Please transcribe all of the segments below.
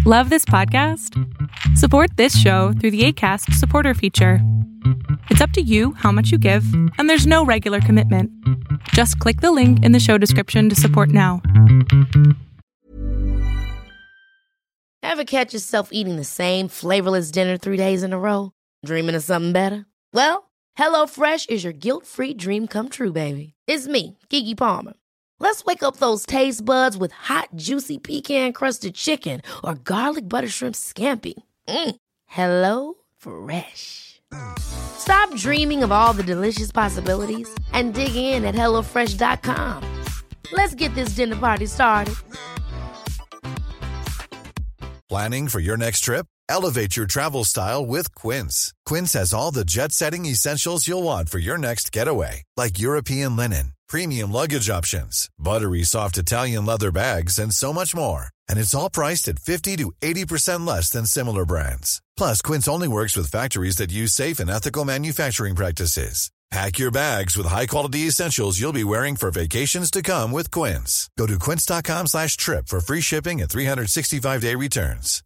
Love this podcast? Support this show through the Acast supporter feature. It's up to you how much you give, and there's no regular commitment. Just click the link in the show description to support now. Ever catch yourself eating the same flavorless dinner 3 days in a row? Dreaming of something better? Well, HelloFresh is your guilt-free dream come true, baby. It's me, Keke Palmer. Let's wake up those taste buds with hot, juicy pecan-crusted chicken or garlic butter shrimp scampi. Hello Fresh. Stop dreaming of all the delicious possibilities and dig in at HelloFresh.com. Let's get this dinner party started. Planning for your next trip? Elevate your travel style with Quince. Quince has all the jet-setting essentials you'll want for your next getaway, like European linen, premium luggage options, buttery soft Italian leather bags, and so much more. And it's all priced at 50 to 80% less than similar brands. Plus, Quince only works with factories that use safe and ethical manufacturing practices. Pack your bags with high-quality essentials you'll be wearing for vacations to come with Quince. Go to quince.com/trip for free shipping and 365-day returns.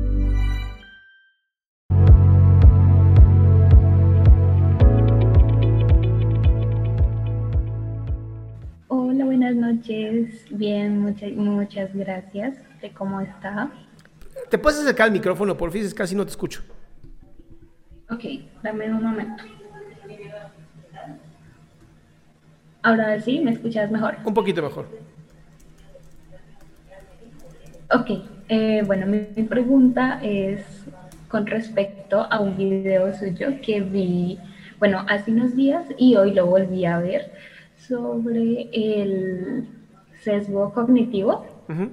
Hola, buenas noches. Bien, muchas gracias. ¿Cómo está? ¿Te puedes acercar al micrófono, por fin? Casi no te escucho. Ok, dame un momento. Ahora sí, ¿me escuchas mejor? Un poquito mejor. Ok, bueno, mi pregunta es con respecto a un video suyo que vi, bueno, hace unos días y hoy lo volví a ver, sobre el sesgo cognitivo. Uh-huh.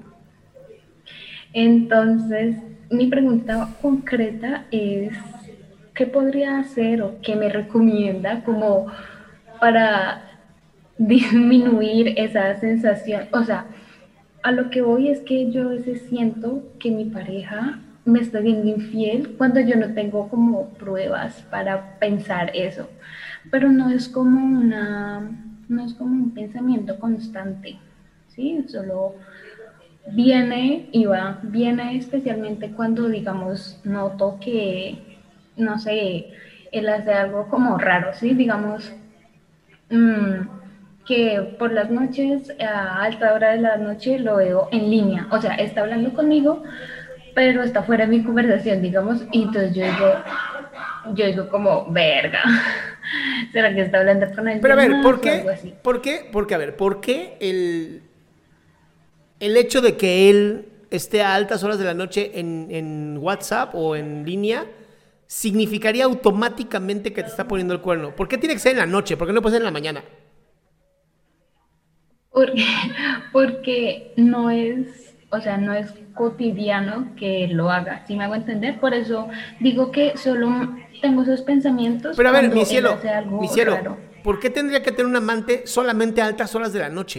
Entonces, mi pregunta concreta es, ¿qué podría hacer o qué me recomienda como para disminuir esa sensación? O sea, a lo que voy es que yo a veces siento que mi pareja me está siendo infiel cuando yo no tengo como pruebas para pensar eso, pero no es como un pensamiento constante, ¿sí? Solo viene y va, viene especialmente cuando, digamos, noto que, no sé, él hace algo como raro, ¿sí? Digamos, que por las noches, a alta hora de la noche, lo veo en línea, o sea, está hablando conmigo, pero está fuera de mi conversación, digamos, y entonces yo digo como, verga, ¿será que está hablando con alguien? Pero a ver, más, ¿por o qué? algo así? ¿Por qué el hecho de que él esté a altas horas de la noche en WhatsApp o en línea significaría automáticamente que te está poniendo el cuerno? ¿Por qué tiene que ser en la noche? ¿Por qué no puede ser en la mañana? Porque no es, o sea, no es cotidiano que lo haga, ¿sí me hago entender? Por eso digo que solo tengo esos pensamientos. Pero a ver, cuando mi él cielo, hace algo raro. ¿Por qué tendría que tener un amante solamente a altas horas de la noche?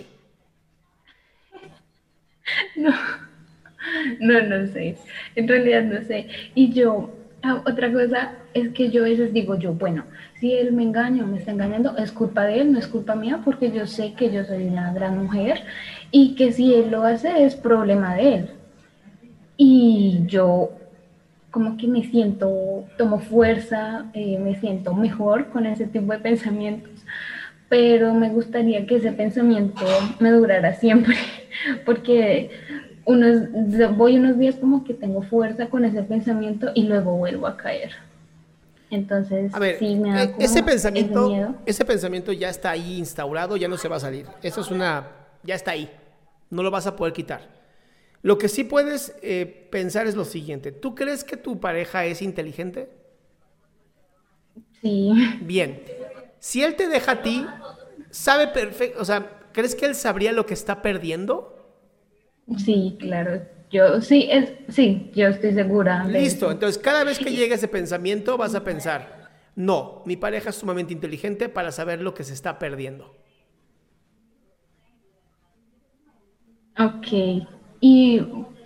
No sé, en realidad no sé. Y yo, otra cosa es que yo a veces digo bueno, si él me engaña o me está engañando, es culpa de él, no es culpa mía, porque yo sé que yo soy una gran mujer y que si él lo hace es problema de él. Y yo como que tomo fuerza, me siento mejor con ese tipo de pensamientos, pero me gustaría que ese pensamiento me durara siempre, porque voy unos días como que tengo fuerza con ese pensamiento y luego vuelvo a caer. Entonces, a ver, sí me da como ese pensamiento, miedo. Ese pensamiento ya está ahí instaurado, ya no se va a salir. Eso es ya está ahí, no lo vas a poder quitar. Lo que sí puedes pensar es lo siguiente. ¿Tú crees que tu pareja es inteligente? Sí. Bien. Si él te deja a ti, sabe perfecto, o sea, ¿crees que él sabría lo que está perdiendo? Sí, claro. Yo estoy segura. Listo. Entonces, cada vez que llegue ese pensamiento, vas a pensar, no, mi pareja es sumamente inteligente para saber lo que se está perdiendo. Ok. Y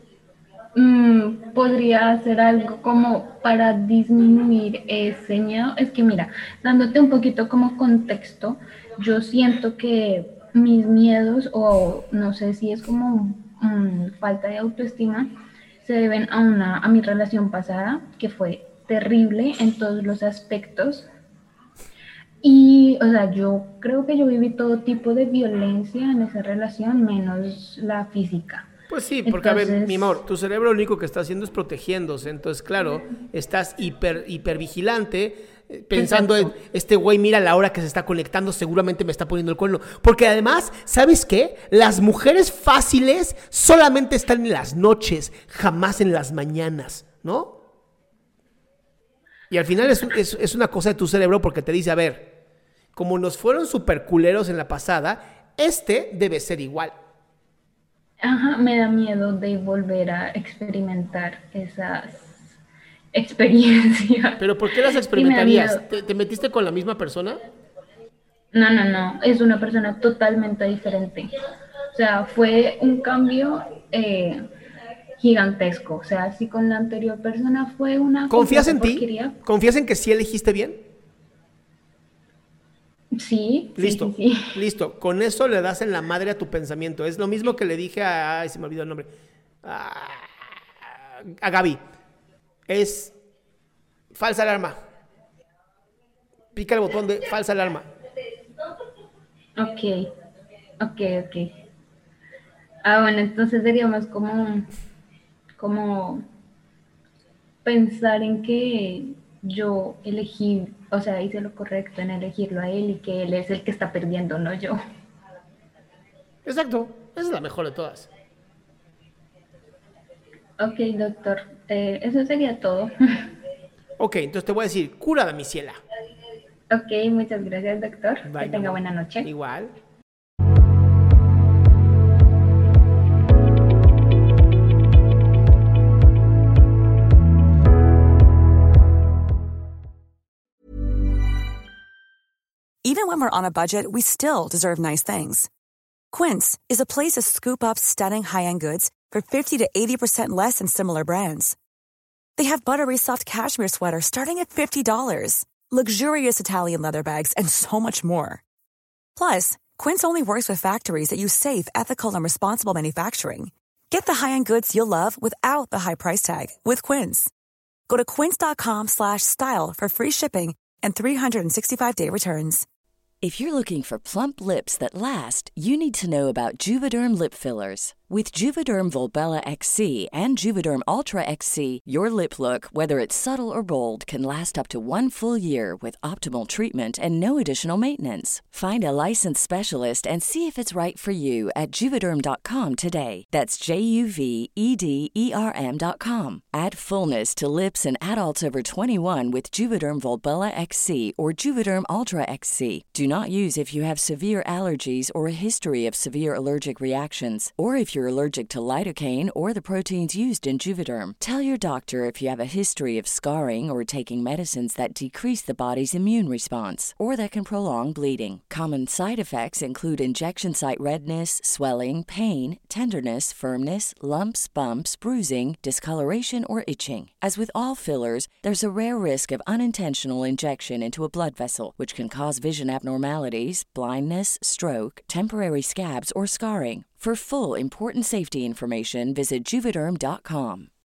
podría hacer algo como para disminuir ese miedo. Es que mira, dándote un poquito como contexto, yo siento que mis miedos, o no sé si es como falta de autoestima, se deben a mi relación pasada, que fue terrible en todos los aspectos. Y, o sea, yo creo que yo viví todo tipo de violencia en esa relación, menos la física. Pues sí, porque a ver, mi amor, tu cerebro lo único que está haciendo es protegiéndose. Entonces, claro, estás hiper vigilante, pensando en este güey, mira la hora que se está conectando, seguramente me está poniendo el cuerno. Porque además, ¿sabes qué? Las mujeres fáciles solamente están en las noches, jamás en las mañanas, ¿no? Y al final es una cosa de tu cerebro porque te dice, a ver, como nos fueron súper culeros en la pasada, debe ser igual. Ajá, me da miedo de volver a experimentar esas experiencias. ¿Pero por qué las experimentarías? ¿Te metiste con la misma persona? No, es una persona totalmente diferente. O sea, fue un cambio gigantesco. O sea, si con la anterior persona fue una... ¿Confías en ti? porquería. ¿Confías en que sí elegiste bien? Sí. Listo, sí. listo. Con eso le das en la madre a tu pensamiento. Es lo mismo que le dije ay, se me olvidó el nombre. A Gaby. Es falsa alarma. Pica el botón de falsa alarma. Ok. Bueno, entonces sería más como pensar en que yo elegí, o sea, hice lo correcto en elegirlo a él y que él es el que está perdiendo, no yo. Exacto. Esa es la mejor de todas. Ok, doctor. Eso sería todo. Ok, entonces te voy a decir, cura mi ciela. Ok, muchas gracias, doctor. Bye, que tenga amor. buena noche. Igual. Even when we're on a budget, we still deserve nice things. Quince is a place to scoop up stunning high-end goods for 50 to 80% less than similar brands. They have buttery soft cashmere sweaters starting at $50, luxurious Italian leather bags, and so much more. Plus, Quince only works with factories that use safe, ethical, and responsible manufacturing. Get the high-end goods you'll love without the high price tag with Quince. Go to quince.com/style for free shipping and 365-day returns. If you're looking for plump lips that last, you need to know about Juvederm lip fillers. With Juvederm Volbella XC and Juvederm Ultra XC, your lip look, whether it's subtle or bold, can last up to 1 full year with optimal treatment and no additional maintenance. Find a licensed specialist and see if it's right for you at Juvederm.com today. That's JUVEDERM.com. Add fullness to lips in adults over 21 with Juvederm Volbella XC or Juvederm Ultra XC. Do not use if you have severe allergies or a history of severe allergic reactions, or if you're allergic to lidocaine or the proteins used in Juvederm. Tell your doctor if you have a history of scarring or taking medicines that decrease the body's immune response or that can prolong bleeding. Common side effects include injection site redness, swelling, pain, tenderness, firmness, lumps, bumps, bruising, discoloration, or itching. As with all fillers, there's a rare risk of unintentional injection into a blood vessel, which can cause vision abnormalities, blindness, stroke, temporary scabs, or scarring. For full, important safety information, visit Juvederm.com.